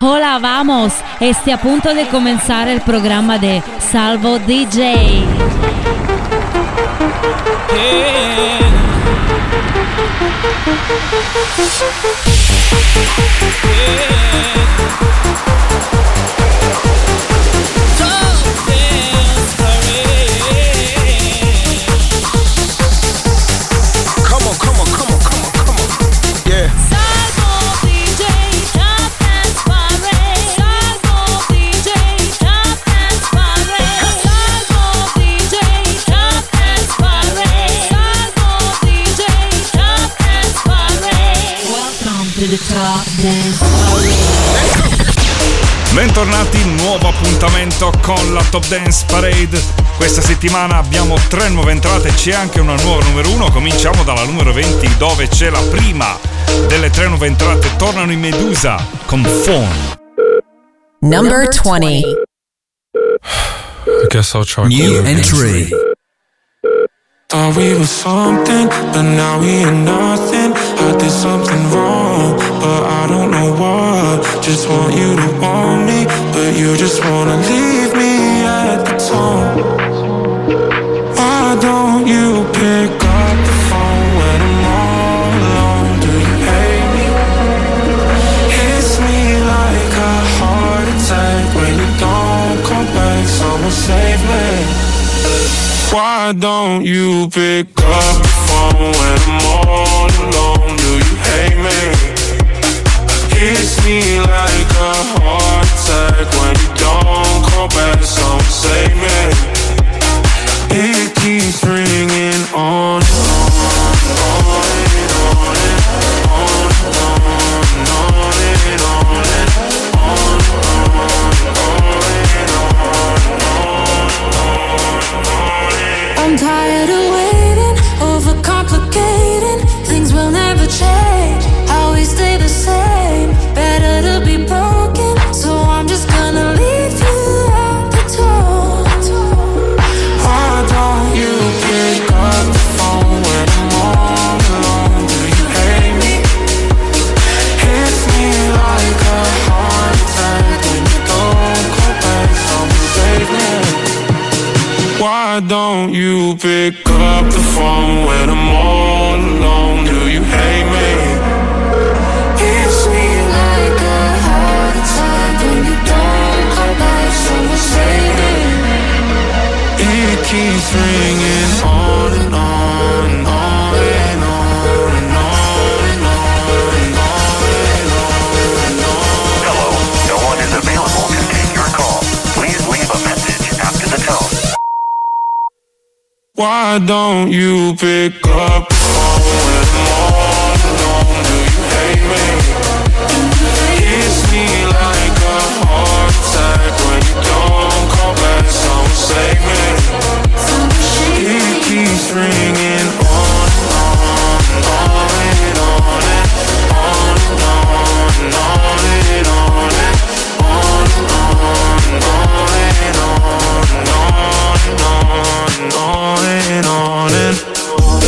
Hola, vamos. Esté a punto de comenzar el programa de Salvo DJ. Bentornati, nuovo appuntamento con la Top Dance Parade. Questa settimana abbiamo 3 nuove entrate, c'è anche una nuova numero 1. Cominciamo dalla numero 20 dove c'è la prima delle 3 nuove entrate. Tornano i Medusa con Phone. Number 20. I guess I'll try. New entry. Thought we were something, but now we are nothing. I did something wrong, but I don't know what. Just want you to want me, but you just wanna leave me at the tone. Why don't you pick up the phone when I'm all alone? Do you hate me? Hits me like a heart attack when you don't come back. Someone save me. Why don't you pick up the phone when I'm all alone? Do you hate me? Hits me like a heart attack when you don't call back. Someone save me. It keeps ringing on and on and on and on and on and on and on and on. I'm tired of waiting, overcomplicating. Things will never change, always stay the same. Better to be broken, so I'm just gonna leave you at the door. Why don't you pick up the phone when I'm all alone? Do you hate me? Hits me like a heart attack when you don't call back. Someone save me. Why don't you pick up the phone when I'm all alone? Do you hate me? Hits me like a heart attack when you don't call back. Someone save me. It keeps ringing on and on and on and on and on and on and on and on. Hello, no one is available to take your call. Please leave a message after the tone. Why don't you pick up the phone when I'm all alone? Do you hate me? Hits me like a heart attack when you don't call back. Someone save me. It keeps ringing on and on and on and on and on and on and on and on and on and on and on and on and on and on and on.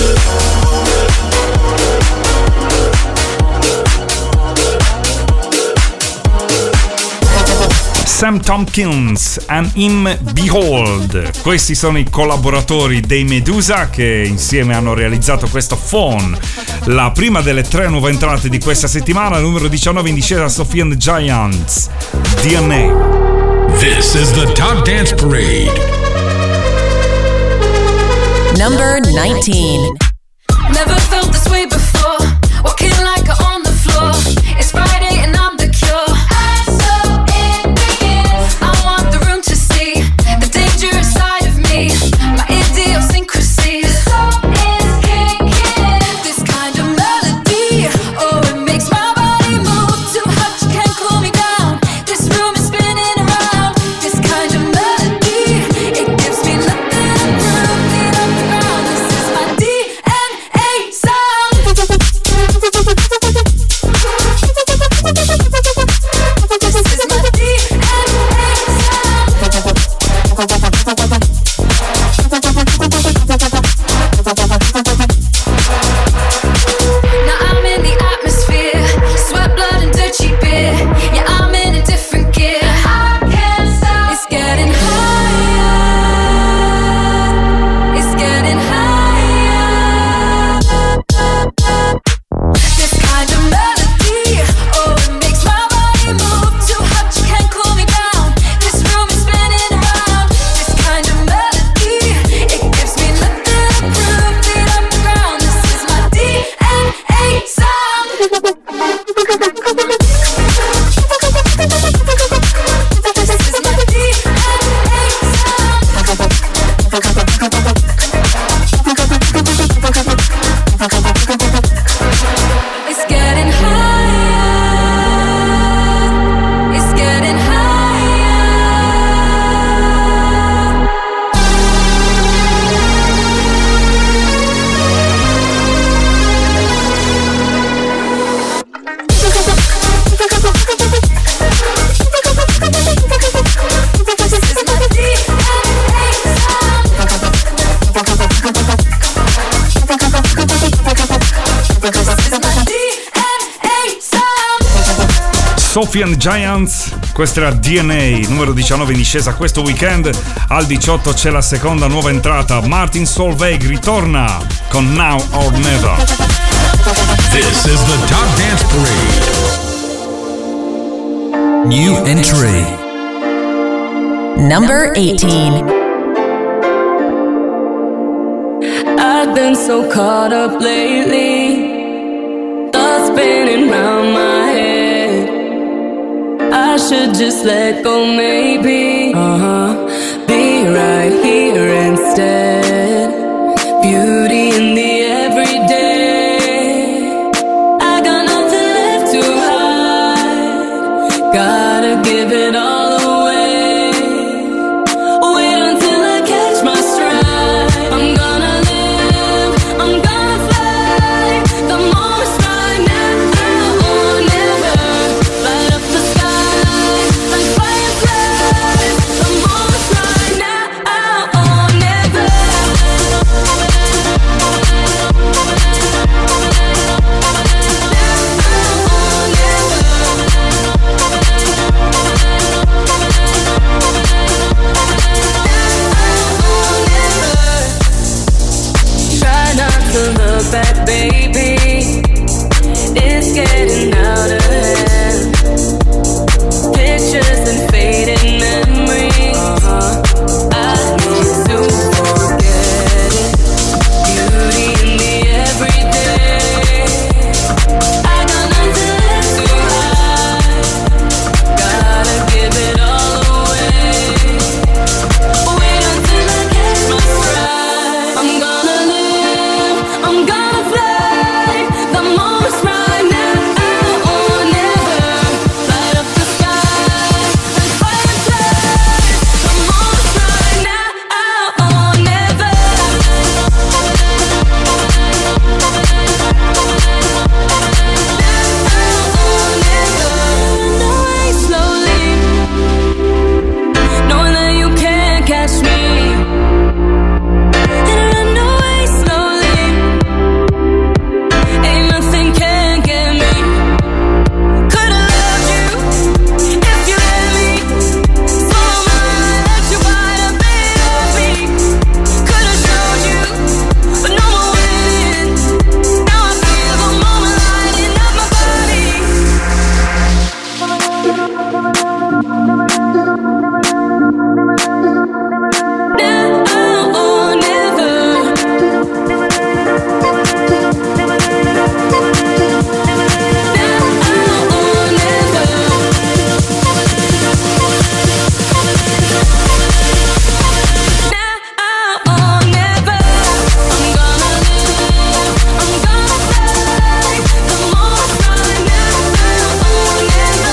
Sam Tompkins and Him Behold. Questi sono i collaboratori dei Medusa che insieme hanno realizzato questo Phone, la prima delle 3 nuove entrate di questa settimana, numero 19 in discesa Sophie and the Giants, DNA. This is the Top Dance Parade. Number 19. Never felt this way before, walking like on the floor. It's Friday and I'm the cure. I'm so in begin. I want the room to see the dangerous side of me, my idiosyncrasies. The soul is kicking. This kind of melody, oh, it makes my body move. Too hot, you can't cool me down. This room is spinning around. This kind of melody, it gives me nothing to prove. Feet on the ground, this is my DNA. So Sophie and Giants, questa era DNA, numero 19 in discesa questo weekend. Al 18 c'è la seconda nuova entrata, Martin Solveig ritorna con Now or Never. This is the Top Dance Parade. New entry. Number 18. I've been so caught up lately, thoughts spinning round my head. I should just let go, maybe. Be right here instead. Beauty in the everyday. I got nothing left to hide. Gotta give it all away. Wait until I catch my stride. I'm gonna live, I'm gonna fly. The moment's right now or never. Light up the sky like fireflies. The moment's right now or never. Try not to look back, baby. It's getting out of hand. Pictures and fading memories. I need to forget it. Beauty in the everyday. I got nothing left to hide. Gotta give it all away. Wait until I catch my stride. I'm gonna live, I'm gonna fly. The moment's right now or never. Light up the sky like fireflies. The moment's right now or never. Run away slowly, knowing that you can't catch me. And run away slowly, ain't nothing can get me. Could've loved you if you let me. Follow my let you quite a bit of me. Could've showed you, but no more waiting. Now I feel the moment lighting up my body. Now or never. Now or never. Now or never. I'm gonna live, I'm gonna fly. The moment's right now or never.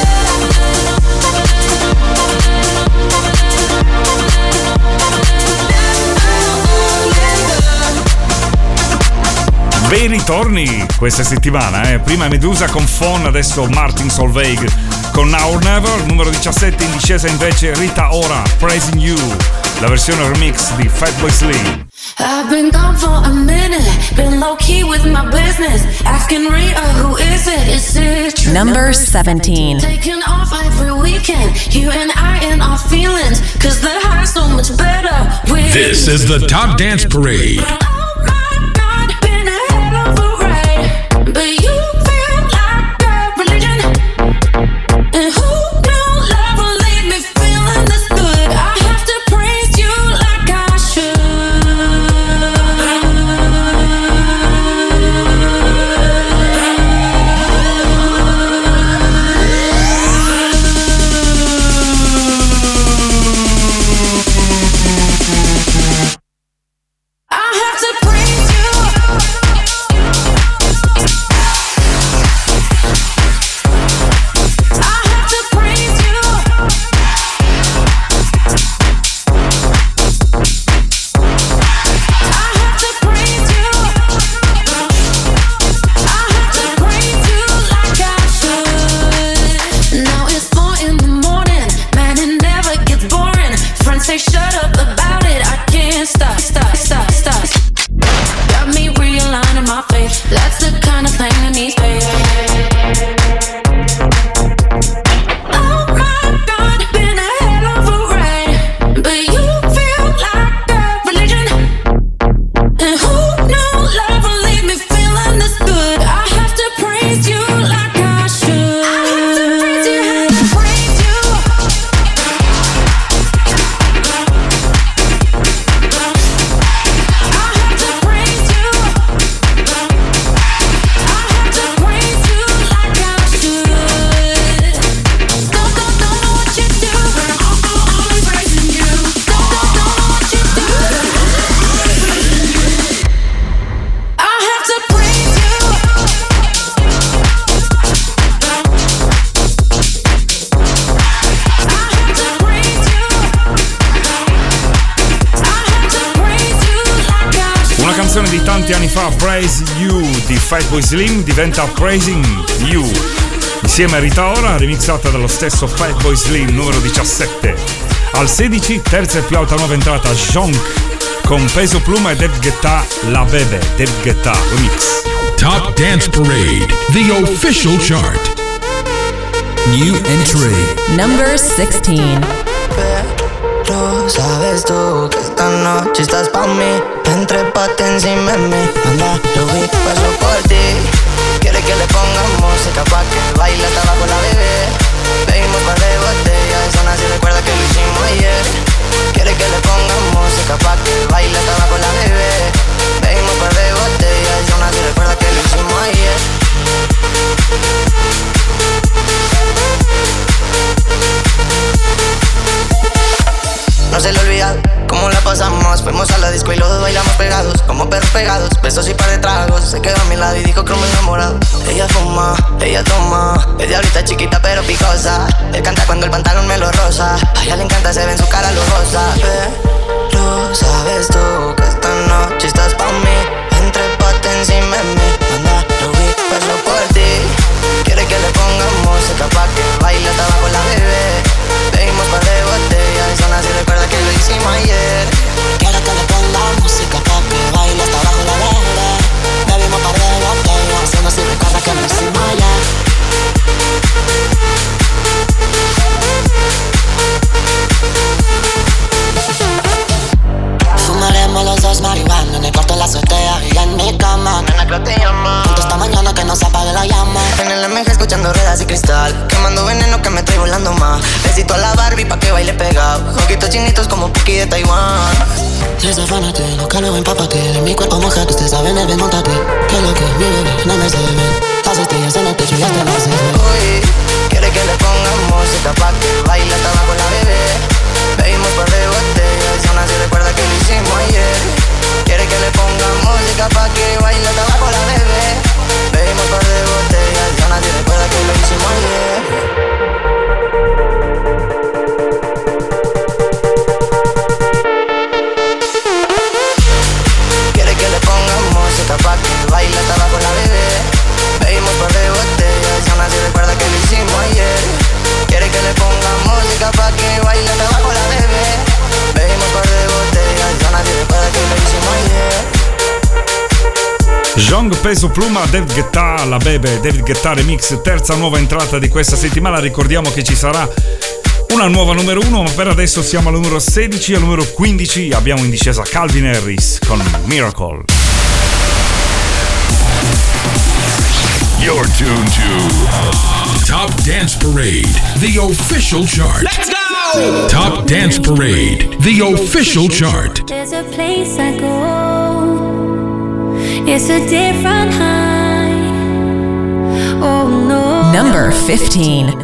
Bei ritorni questa settimana, Prima Medusa con Fon, adesso Martin Solveig con Now or Never. Numero 17 in discesa invece Rita Ora, Praising You, la versione remix di Fatboy Slim. I've been gone for a minute, been low key with my business. Asking Rita, who is it? Is it true? Number 17. Taking off every weekend, you and I in our feelings. Cause the high's so much better with This is the Top Dance Parade. Oh my God, been a hell of a ride. But you feel like a religion. And who knew love would leave me feeling this good? I have to praise you like I should. I have to canzone di tanti anni fa, Praise You di Fatboy Slim, diventa Praising You. Insieme a Rita Ora, remixata dallo stesso Fatboy Slim, numero 17. Al 16, terza e più alta nuova entrata, Jonk con Peso Pluma e David Guetta, La Bebe, David Guetta remix. Top Dance Parade, the official chart. New entry. Number 16. Pero sabes tú que esta noche estás pa' mí. Entrépate encima de mí. Anda, Ruby, paso por ti. Quiere que le pongamos música pa' que baile hasta abajo la bebé. Bebimos par de botellas, aún así recuerda que lo hicimos ayer. Quiere que le pongamos música pa' que baile hasta abajo la bebé. Bebimos par de botellas, aún así recuerda que lo hicimos ayer. No se le olvida cómo la pasamos. Fuimos a la disco y los dos bailamos pegados, como perros pegados, besos y par de tragos. Se quedó a mi lado y dijo que me enamorado. Ella fuma, ella toma, es diablita chiquita pero picosa. Él canta cuando el pantalón me lo rosa. A ella le encanta, se ve en su cara lujosa. Pero sabes tú que esta noche estás pa' mí. Entrépate encima de mí. Anda, Ruby, paso por ti. Quiere que le ponga música pa' que baile hasta abajo la bebé. Bebimos par de botellas, aún así recuerda que lo hicimos ayer. Quiero que le ponga música pa' que baile hasta abajo la bebé. Bebimos par de botellas, aún así recuerda que lo hicimos ayer. Fumaremos los dos marihuana en el cuarto de la azotea y en mi cama. Nena, creo que te llama. Juntos esta mañana que no se apague la llama. En el MG escuchando ruedas y cristal, quemando veneno que me estoy volando más. Besito a la Barbie pa' que baile pegado. Ojitos chinitos como Puki de Taiwán. Desafánate, no que luego empápate. De mi cuerpo mojado, usted sabe, ven, montate. Que lo que mi bebé no me se ve. Las estrellas en el techo ya te las ve. Uy, quiere que le ponga música pa' que baile hasta abajo la bebé. Bebimos par de botellas y aún así recuerda que lo hicimos ayer. Quiere que le ponga música pa' que baile hasta abajo la bebé. Bebimos par de botellas y aún así recuerda que lo hicimos ayer. Quiere que le ponga música pa' que baile hasta abajo la bebé. Bebimos par de botellas y aún así recuerda que lo hicimos ayer. Quiere que le ponga música pa' que baile hasta abajo la bebé. Bebimos par de botellas y aún así recuerda que lo hicimos ayer. Jong, Peso Pluma, David Guetta, La Bebe, David Guetta remix, terza nuova entrata di questa settimana. Ricordiamo che ci sarà una nuova numero 1, ma per adesso siamo al numero 16 e al numero 15 abbiamo in discesa Calvin Harris con Miracle. You're tuned to Top Dance Parade, the official chart. Let's go! Top Dance Parade, the official chart. There's a place I go. It's a different high. Oh no. Number 15.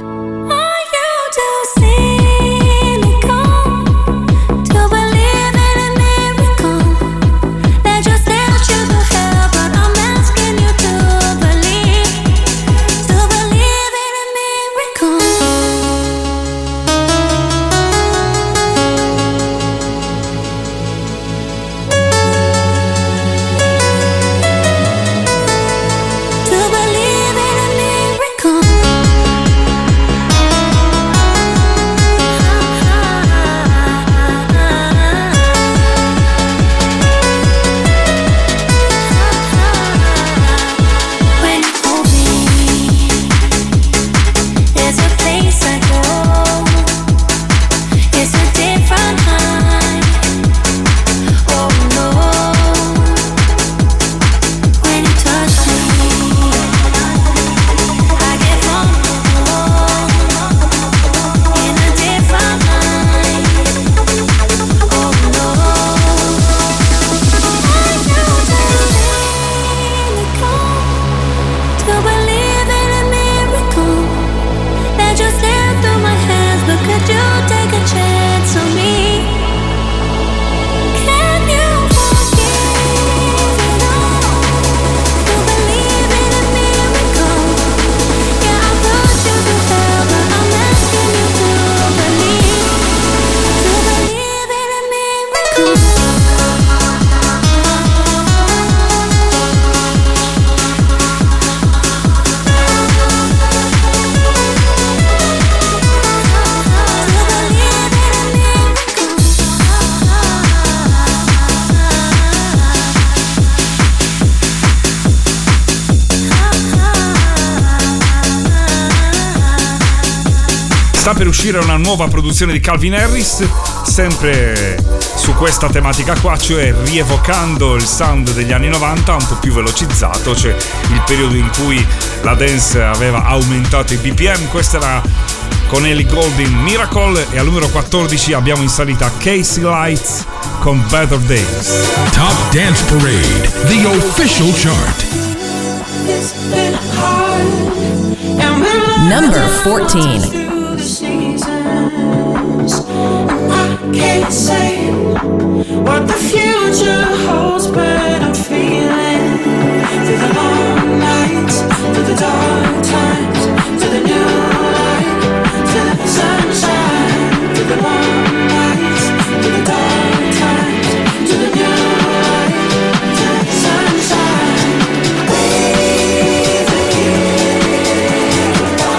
Sta per uscire una nuova produzione di Calvin Harris, sempre su questa tematica qua, cioè rievocando il sound degli anni 90 un po' più velocizzato, cioè il periodo in cui la dance aveva aumentato i BPM. Questa era con Ellie Goulding, Miracle, e al numero 14 abbiamo in salita Casey Lights con Better Days. Top Dance Parade, the official chart. Number 14. I can't say what the future holds, but I'm feeling through the long nights, through the dark times, to the new light, to the sunshine, through the long nights, through the dark times, to the new light, to the sunshine. Breathe again,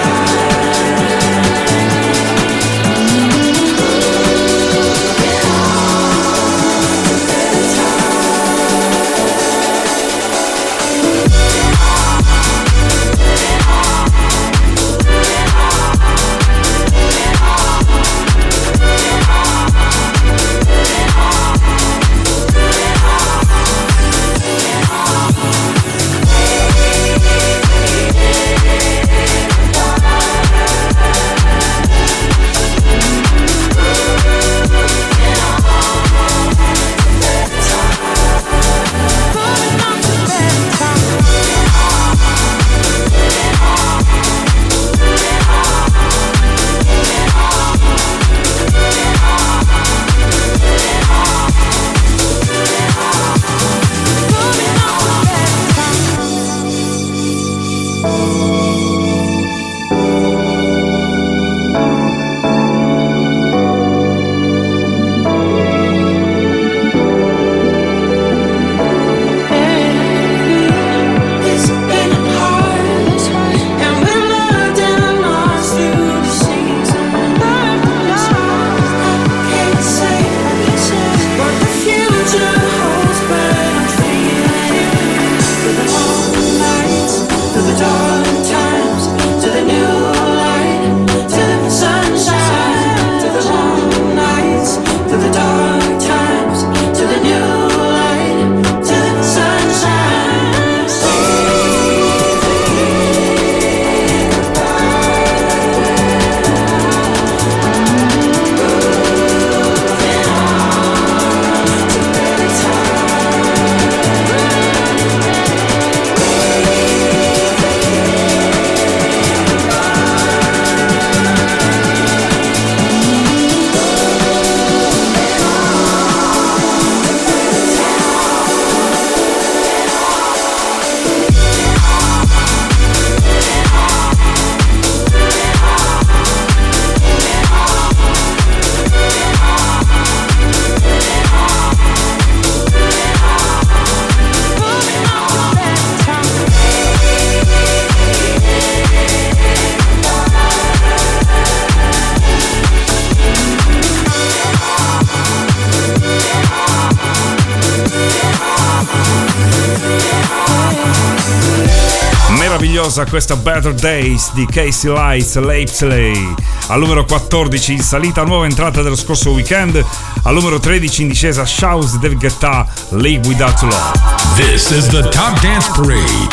meravigliosa questa Better Days di Casey Lights Lapsley. Al numero 14 in salita, nuova entrata dello scorso weekend. Al numero 13 in discesa, Shouse David Guetta, Live Without Love. This is the Top Dance Parade.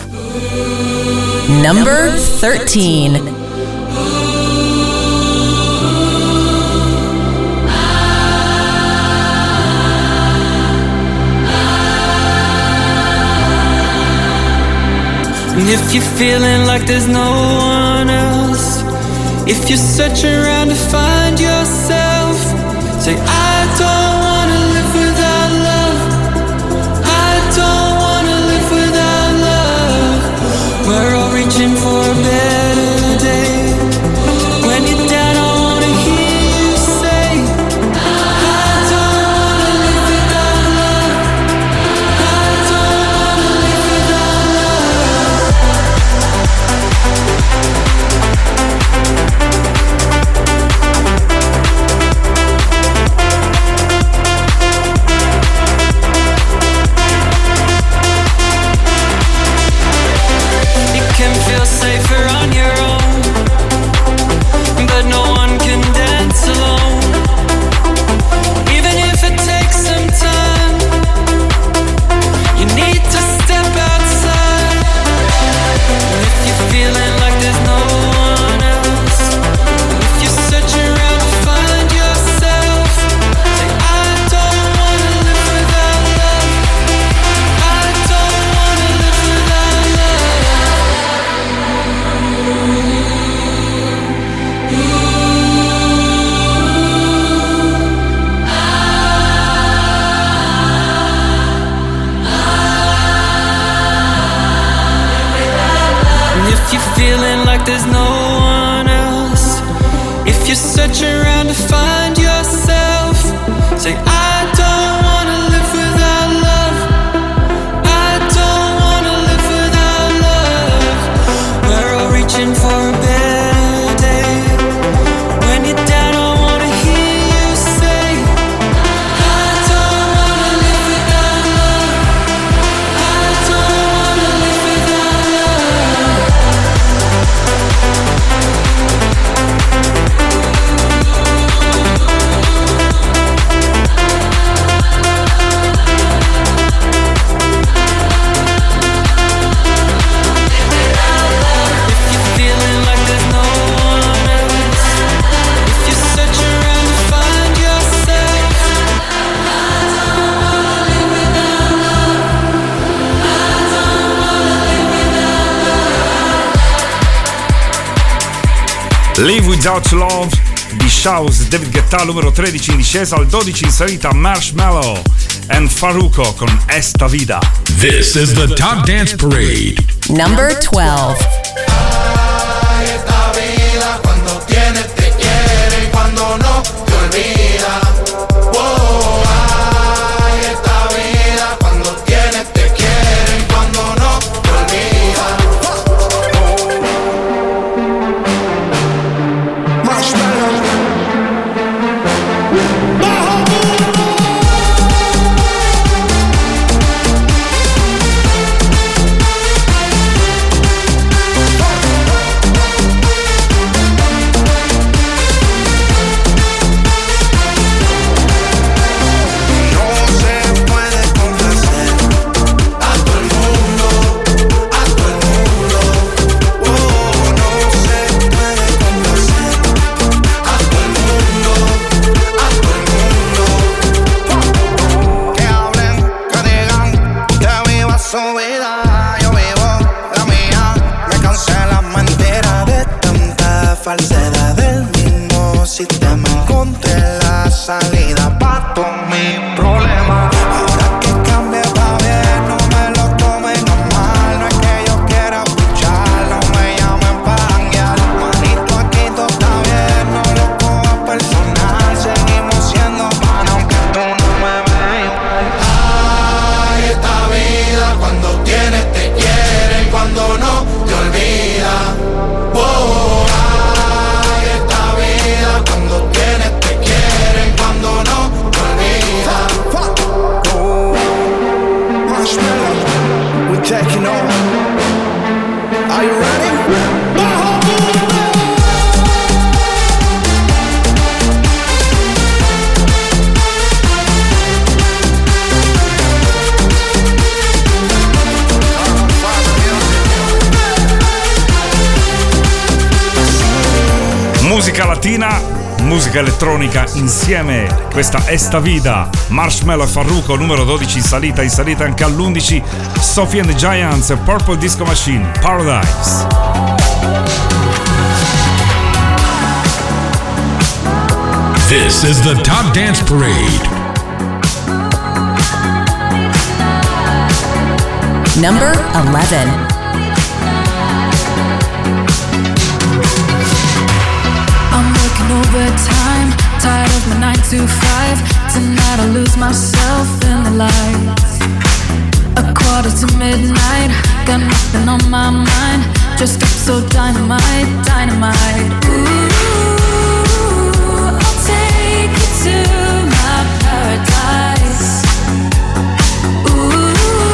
Number 13. And if you're feeling like there's no one else, if you're searching around to find yourself, say I don't wanna live without love. I don't wanna live without love. We're all reaching for a better day. When you're down, I wanna hear you say I don't wanna live without love. I don't wanna live without love. If you search around to find yourself, say I don't wanna live without love. I don't wanna live without love. We're all reaching for a better day. When you're down, I wanna hear you say I don't wanna live without love. I don't wanna live without love. Live Without Love di Shouse, David Guetta, numero 13 in discesa, al 12 in salita Marshmello and Farruko con Esta Vida. This is the Top Dance Parade. Number 12. Ay, esta vida cuando tienes te quiere y cuando no te olvida. Oh, ay, esta vida cuando tienes te quiere y cuando no te olvida. Marshmello. Falsedad del mismo sistema. Encontré la salida pa' todos mis problemas. Ahora que cambie pa' bien, no me lo tomen a mal. No es que yo quiera escuchar, no me llamen pa' janguear. Manito, aquí todo está bien, no lo cojas personal. Seguimos siendo pan aunque tú no me veas. Ay, esta vida cuando tienes te quiere y cuando no te olvida. Oh, cuando tienes te quieren, cuando no te olvida. Marshmello, we're taking over. Are you ready? Musica latina, musica elettronica insieme, questa Esta Vida, Marshmello e Farruko, numero 12 in salita anche all'11, Sophie and the Giants e Purple Disco Machine, Paradise. This is the Top Dance Parade. Number 11. Overtime, tired of my 9 to 5. Tonight I lose myself in the lights. A quarter to midnight, got nothing on my mind. Just up so dynamite, dynamite. Ooh, I'll take you to my paradise. Ooh,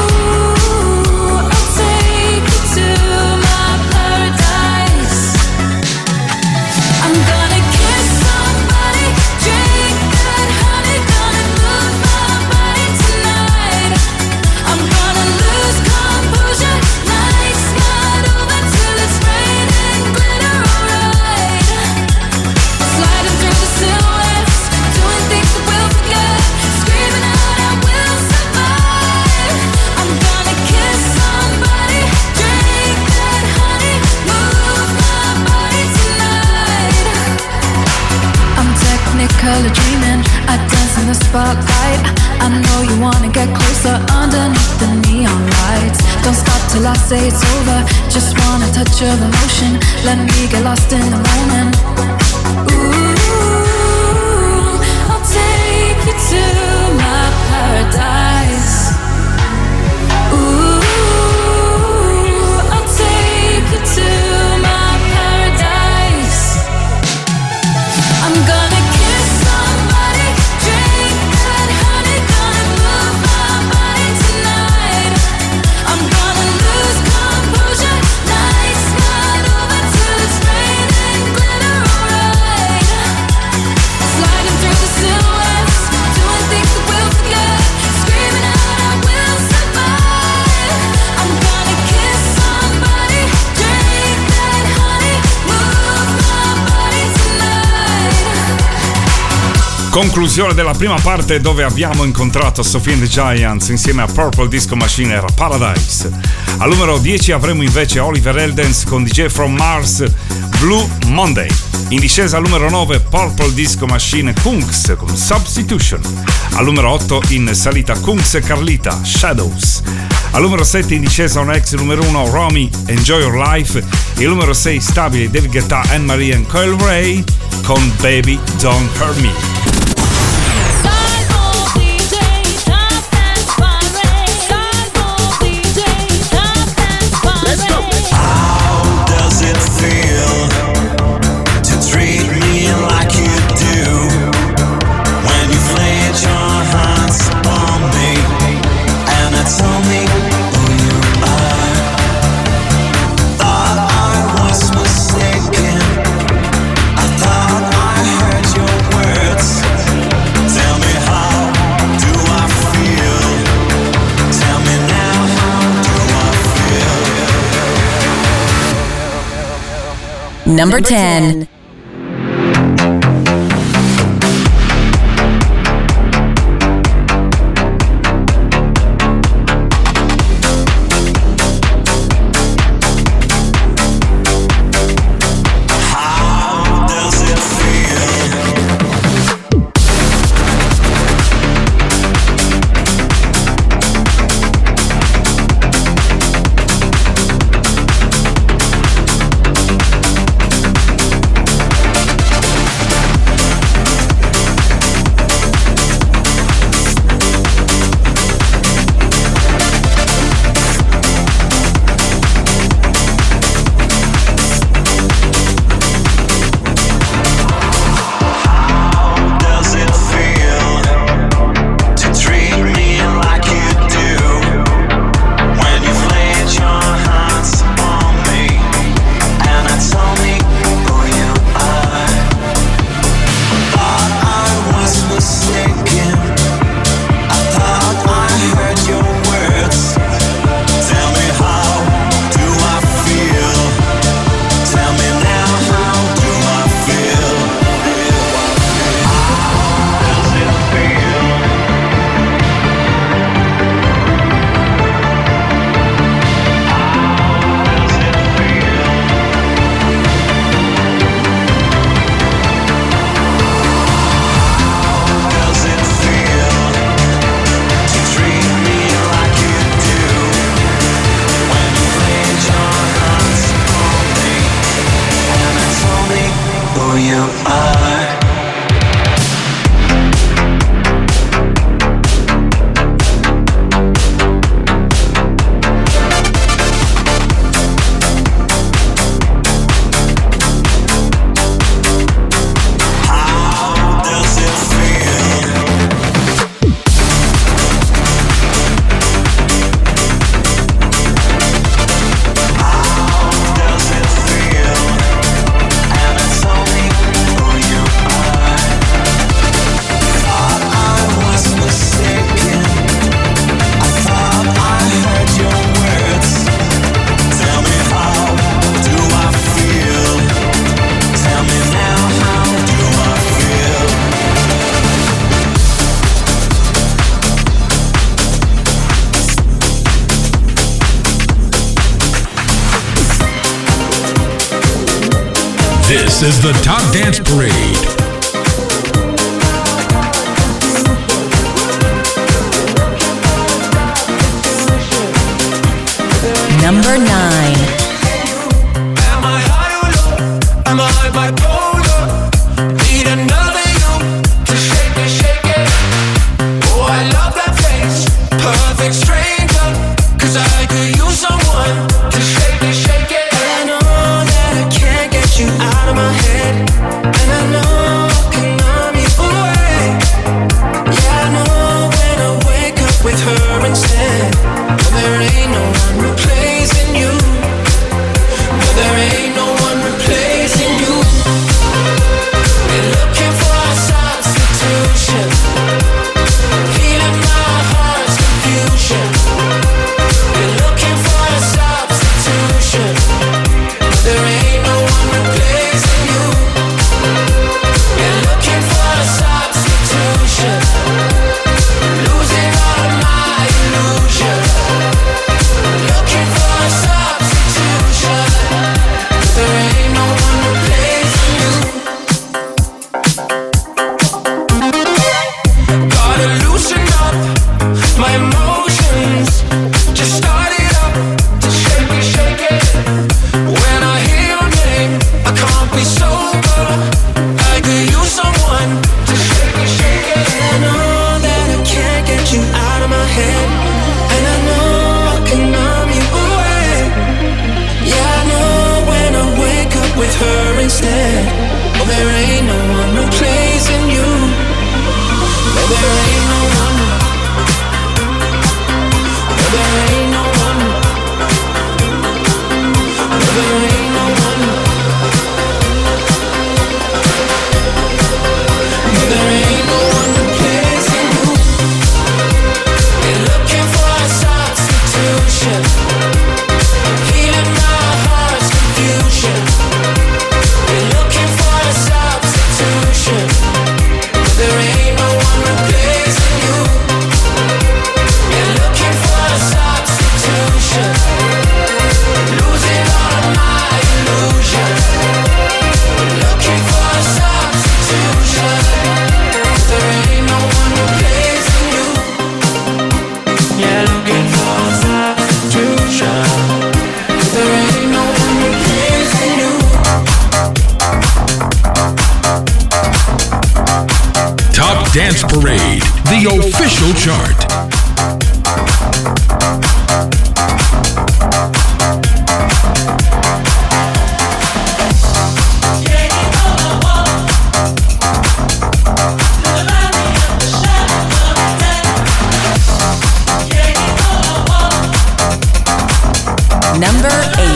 I'll take you to my paradise. I'm gonna kiss somebody, drink that honey, gonna move my body tonight. I'm gonna lose composure, nights not over till it's raining glitter, alright. Sliding through the silhouettes, doing things that we'll forget, screaming out I will survive. I'm gonna kiss somebody, drink that honey, move my body tonight. I'm technicolor dreaming, I dance in the spotlight. I know you wanna get closer underneath the neon lights. Don't stop till I say it's over, just want a touch of emotion. Let me get lost in the moment. Ooh, Conclusione della prima parte, dove abbiamo incontrato Sophie and the Giants insieme a Purple Disco Machine, era Paradise. Al numero 10 avremo invece Oliver Heldens con DJ From Mars, Blue Monday. In discesa al numero 9 Purple Disco Machine Kungs con Substitution. Al numero 8 in salita Kungs e Carlita, Shadows. Al numero 7 in discesa un ex numero 1 Romy, Enjoy Your Life. E al numero 6 stabili David Guetta, Anne-Marie e Coil Ray con Baby Don't Hurt Me. Number 10. This is the Top Dance Parade. Number 9. Am I high or low? Am I bipolar? Need another you to shake it, shake it. Oh, I love that face, perfect stranger. 'Cause I could use someone to shake it, shake it. I know that I can't get you out of my head, and I know Dance Parade, the official chart. Number 8.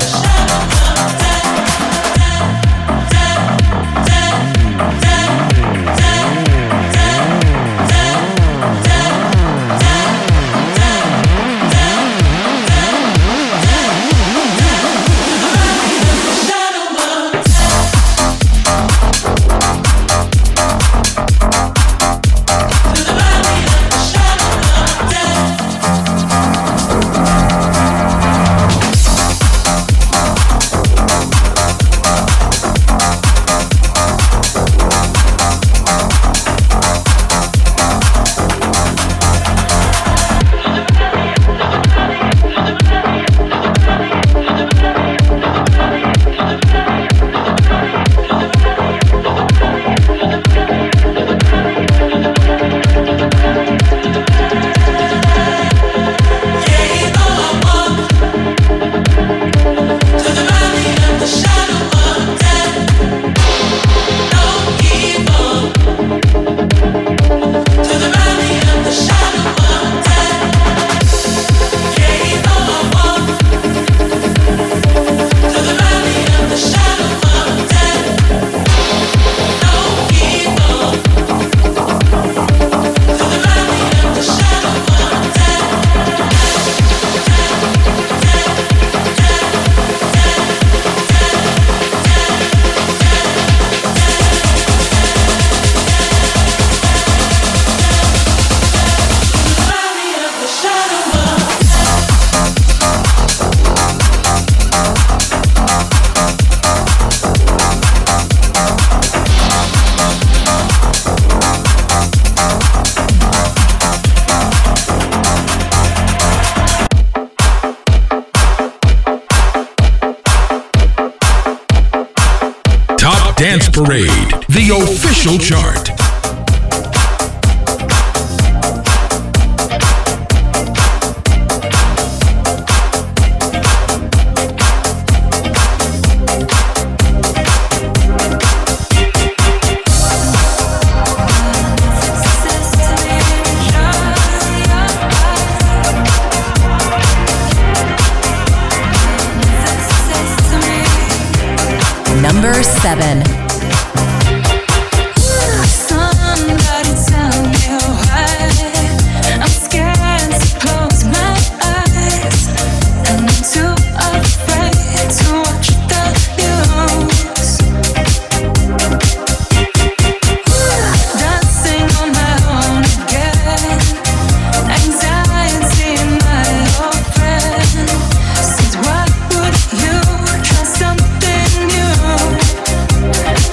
Dance Parade, the official chart. Number 7. Somebody tell me why I'm scared to close my eyes, and I'm too afraid to watch the news. Dancing on my own again, anxiety my old friend. Said why would you try something new?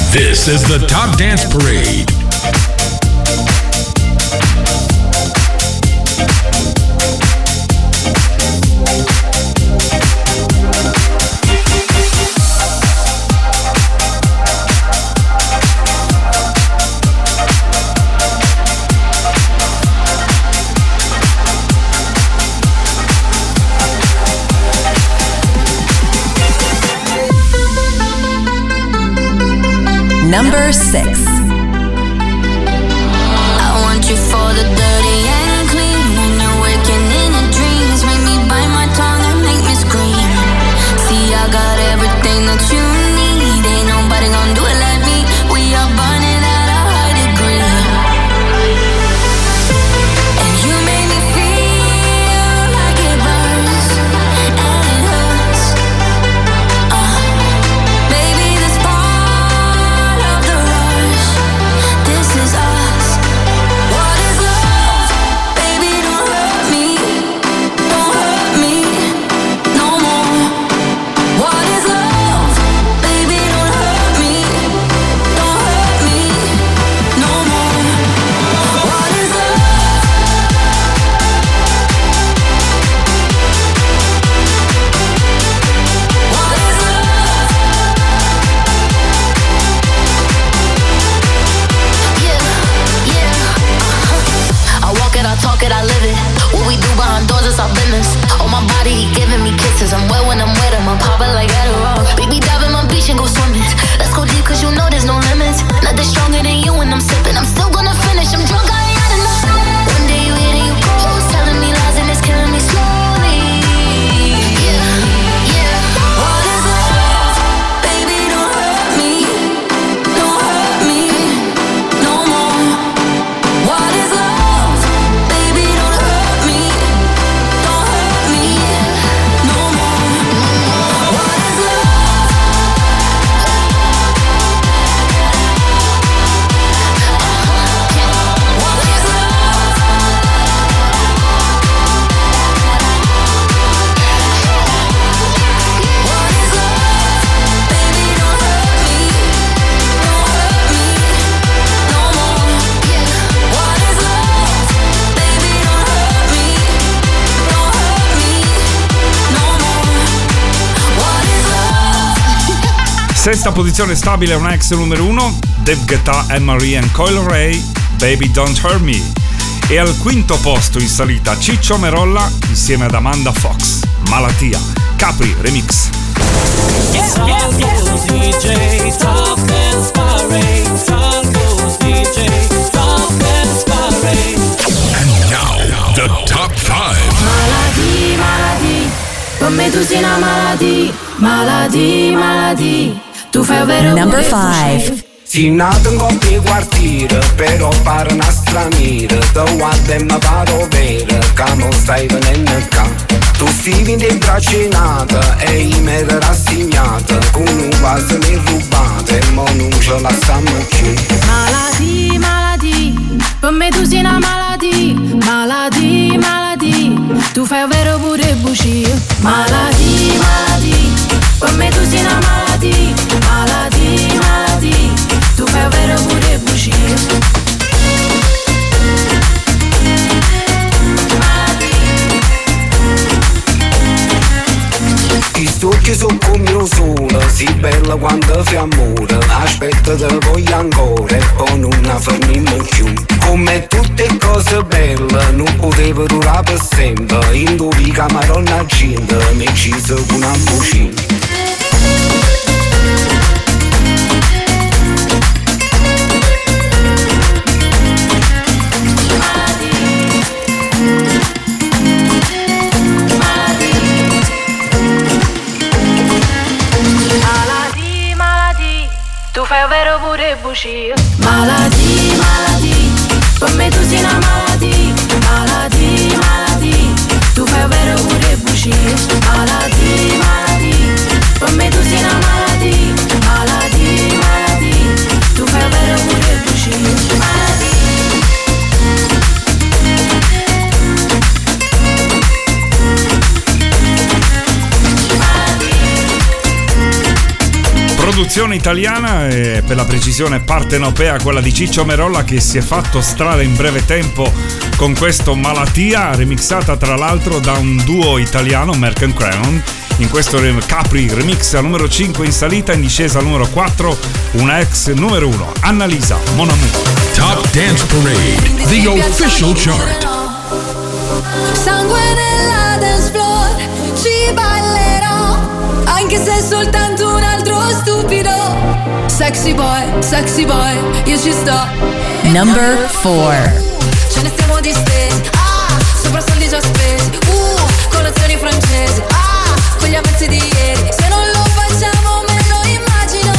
This is the Top Dance Parade. Number 6. I want you for the dirty and clean. When you're waking in your dreams, make me bite my tongue and make me scream. See, I got everything that you need. Ain't nobody gonna do it like me. We are burning at a high degree. And you make me feel like it burns and it hurts. Baby, this part of the rush. This is us. What is love? Baby, don't hurt me. Don't hurt me no more. What is love? Baby, don't hurt me. Don't hurt me no more. What is love? What is love? Yeah. I walk it, I talk it, I live it. What we do behind doors is our business. On my body, he giving me kisses. I'm wet when I'm wet, I'm popping like Adderall. Baby, dive in my beach and go swimming. Let's go deep, cause you know there's no limits. Nothing stronger than you when I'm sipping. I'm still gonna finish, I'm drunk, I ain't had enough. One day you hit and you close, telling me lies and it's killing me slowly. Yeah. What is love? Baby, don't hurt me. Don't hurt me no more. What is love? Baby, don't hurt me. Don't hurt me no more. What is love? What is love? What is love? Baby, don't hurt me. Don't hurt me no more. What is love? Baby, don't hurt me. Don't hurt me no more. What is love? Sesta posizione stabile, una ex numero 1, Dave Guetta, Anne-Marie and Coil Ray, Baby Don't Hurt Me. E al quinto posto in salita Ciccio Merolla insieme ad Amanda Fox, Malattia, Capri Remix. Salgo's DJ, Top Dance Parade. Salgo's DJ, Top Dance Parade. And now, the top 5. Maladie, maladie, come tu sei una maladie, maladie, maladie. Tu fai un vero Number 5. Si nato in coppia quartiere, però pare una straniera. Te guarda e mi paro vera, che non stai venendo qua. Tu vivi in braccinata e io mi ero rassegnata. Con un quasi mi rubata e mo non ce la stiamo più. Maladie, maladie, come tu sei una maladie, maladie, maladie. Tu fai un vero pure bugie. Maladie, maladie, come tu sei una maladie, maladie, maladie. Tu fai un vero pure bugie. I stucchi sono come io sono, si bella quando fi amore. Aspetta te voglio ancora e poi non fermiamo più. Come tutte cose belle non poteva durare per sempre. In due camarone gente mi ci sono una bucina. Maladie, maladie, tu fai un vero pure bugie. Maladie, maladie, come tu sei una maladie, maladie, maladie. Tu fai un vero pure bugie. Maladie, maladie, come tu sei una maladie, maladie, maladie. Tu fai un vero pure bugie. produzione italiana, per la precisione partenopea, quella di Ciccio Merolla, che si è fatto strada in breve tempo con questo Malattia, remixata tra l'altro da un duo italiano, Merck & Crown. In questo Capri remix al numero 5 in salita, in discesa al numero 4 una ex numero 1, Annalisa, Mon Amour. Top Dance Parade, the official chart. Sangue nella dance floor, ci ballerò, anche se è soltanto un altro stupido. Sexy boy, io ci sto. Number 4. Ce ne stiamo distesi, sopra soldi già spesi, colazioni francesi, con gli avanzi di ieri. Se non lo facciamo me lo immagino.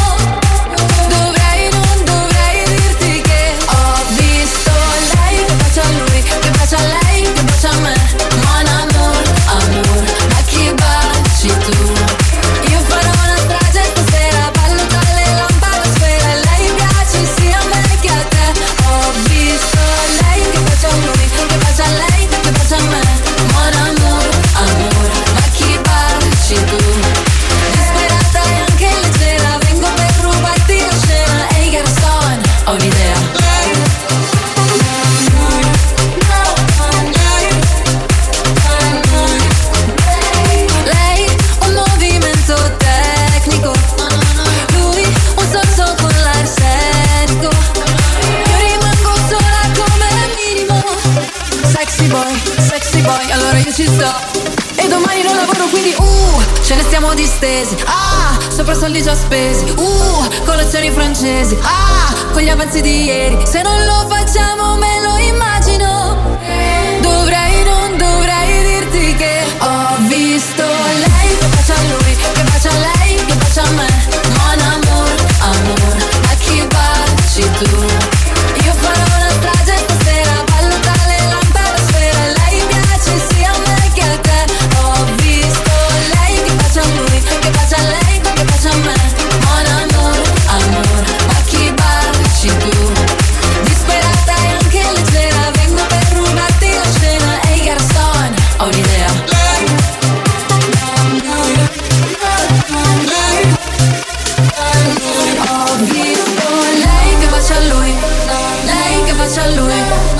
Non dovrei dirti che ho visto lei che bacia a lui, che bacia a lei, che bacia a me. Mon amour, amour, ma chi baci tu? Io farò una strage stasera, ballo tra le lampade a sfera. Lei piace sia a me che a te. Ho visto lei che bacia a lui, che bacia a lei, che bacia a me. Mon amour, amour, ma chi baci tu? Disperata e anche leggera, vengo per rubarti la scena. Ehi garçon, ho un'idea. Lei un movimento tecnico, lui un sorso con l'arsenico. Io rimango sola come minimo. Sexy boy, allora io ci sto. E domani non lavoro quindi ce ne stiamo distesi, sopra soldi già spesi, colazioni francesi, con gli avanzi di ieri. Se non lo facciamo me lo immagino. Non dovrei dirti che ho visto lei che bacia a lui, che bacia a lei, che bacia a me. Mon amour, amour, a chi baci tu? Io farò una strage stasera, ballo tra le lampade a sfera. Lei piace sia a me che a te. Ho visto lei che bacia a lui, che bacia a lei, che bacia a me. Mon amour, amour, a chi baci tu? Disperata e anche leggera, vengo per rubarti la scena. Ehi garçon, ho un'idea. Ho visto lei che bacia a lui, lei che bacia a lui.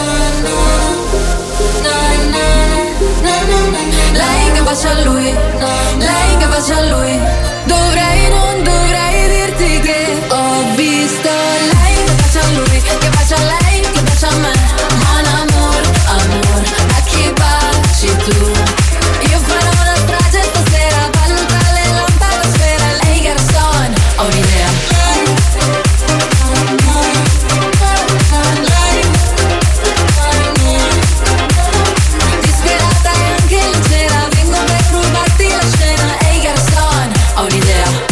Lei che bacia a lui, lei che bacia a lui. Non dovrei dirti che ho visto lei che bacia a lui, che bacia a lei, che bacia a me. Mon amour, amour, a chi baci tu? Io farò una strage stasera, ballo tra le lampade a sfera. Ehi garçon, ho un'idea. Disperata e anche leggera, vengo per rubarti la scena. Ehi garçon, ho un'idea.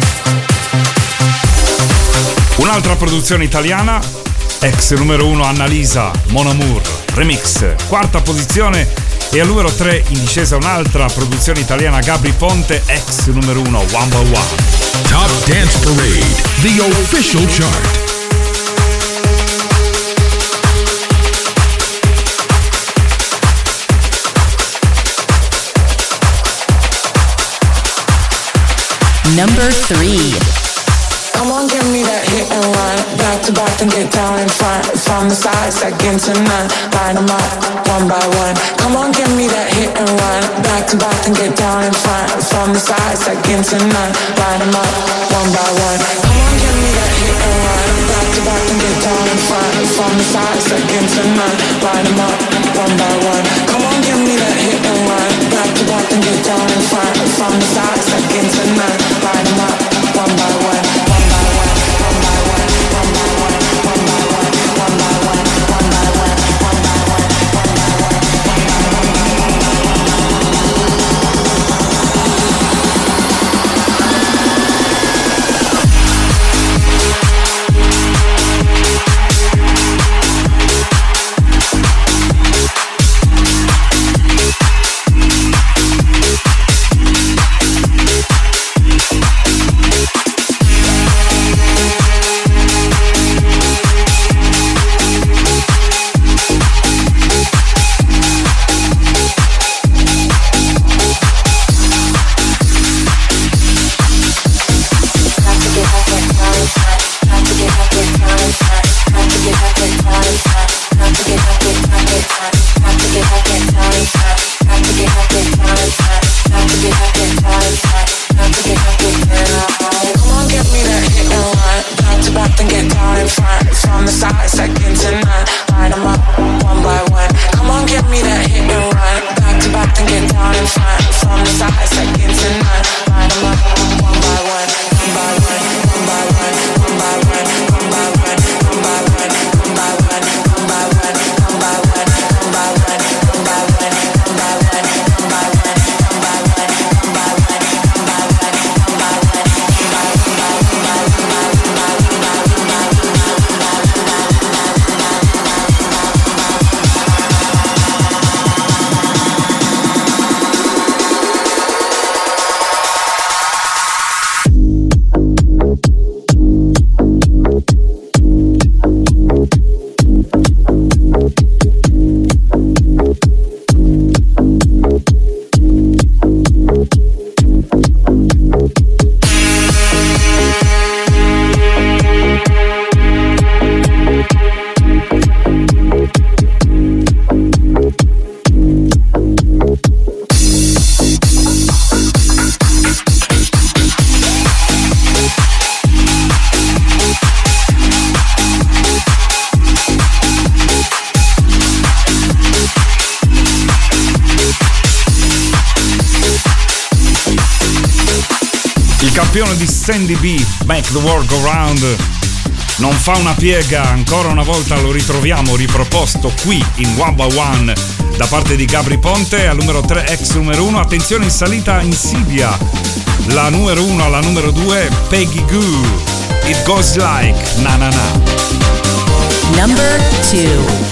Un'altra produzione italiana, ex numero 1 Annalisa, Mon Amour, remix, quarta posizione. E al numero 3 in discesa un'altra produzione italiana, Gabry Ponte, ex numero 1, One by One. Top Dance Parade, the official chart. Number 3. Come on, give me that hit and run. Back to back and get down in front. From the side, second to none. Line them up, one by one. Come on, give me that hit and run. Back to back and get down in front. From the side, second to none. Line them up, one by one. Come on, give me that hit and run. Back to back and get down in front. From the side, second to none. Line them up, one by one. Come on, give me that hit and run. Back to back and get down in front. From the side, second to none. Line them up, one by one. campione di Sandy B, Make the World Go Round, non fa una piega, ancora una volta lo ritroviamo riproposto qui in One by One da parte di Gabry Ponte. Al numero 3 ex numero 1, attenzione in salita Insidia, la numero 1 alla numero 2 Peggy Gou, It Goes Like Na Na Na. Number 2.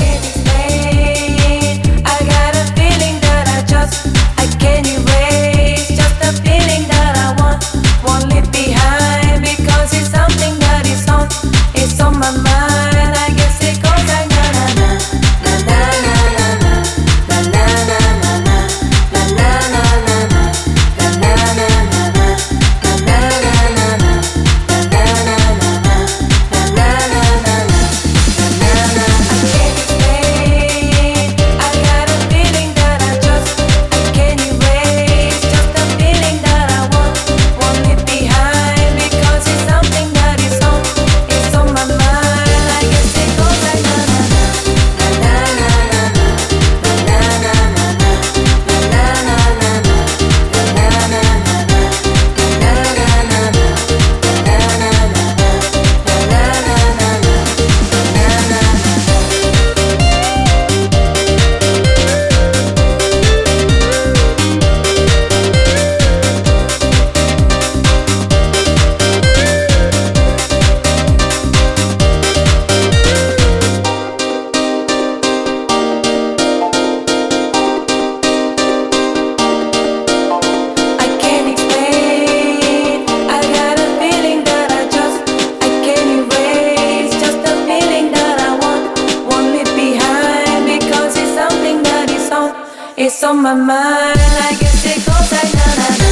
It's on my mind, I guess it goes like na na na.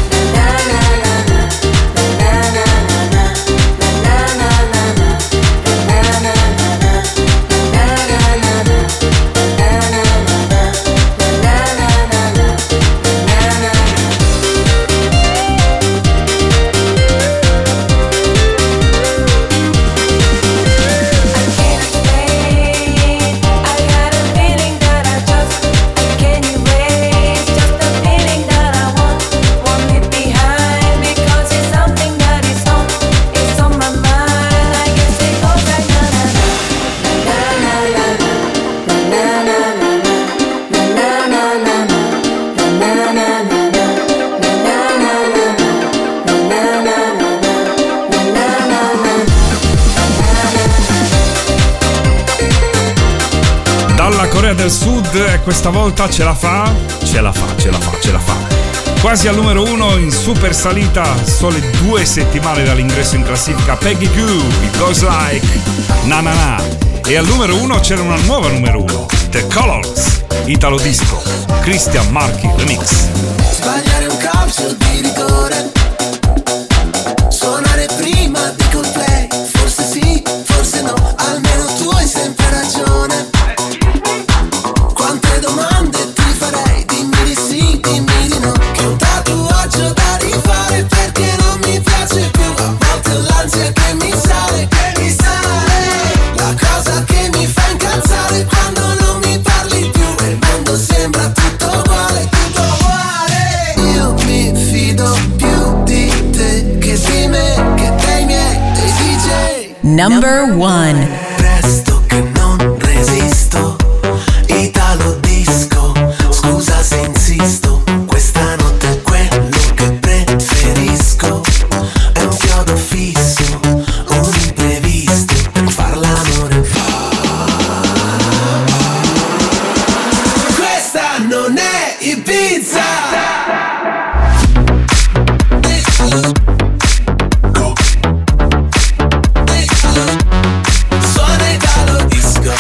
Del Sud, e questa volta ce la fa. Quasi al numero 1 in super salita, sole 2 settimane dall'ingresso in classifica Peggy Gou, It Goes Like Na Na Na. E al numero 1 c'era una nuova numero 1, The Colors, Italo Disco, Christian Marchi Remix. Sbagliare un calcio di rigore, suonare prima di Coldplay, forse sì, forse no, almeno tu hai sempre ragione. Quante domande ti farei, dimmi di sì, dimmi di no. Che un tatuaggio da rifare perché non mi piace più. A volte l'ansia che mi sale, la cosa che mi fa incazzare quando non mi parli più. E il mondo sembra tutto uguale, tutto uguale. Io mi fido più di te che di me, che dei miei, dei DJ. Number 1. Presto che non resisto, Italo Disco, scusa se insisto, questa notte è quello che preferisco. È un chiodo fisso, un imprevisto per far l'amore. Questa non è Ibiza. Suona Italo Disco.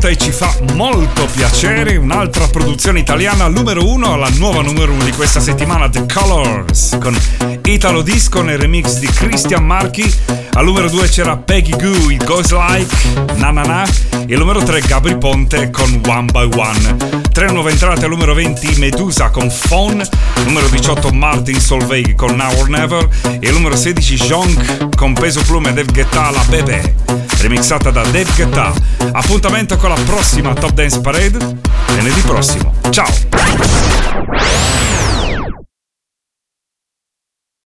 nota e ci fa molto piacere. Un'altra produzione italiana, numero 1, la nuova numero 1 di questa settimana, The Colors, con Italo Disco nel remix di Christian Marchi. Al numero 2 c'era Peggy Goo, It Goes Like, Na Na Na. E al numero 3 Gabri Ponte con One by One. 3 nuove entrate al numero 20 Medusa con Phone. Numero 18 Martin Solveig con Now or Never. E al numero 16 Jonk con Peso Plume e Dave Guetta, La Bebe, remixata da Dave Guetta. Appuntamento con la prossima Top Dance Parade venerdì prossimo. Ciao!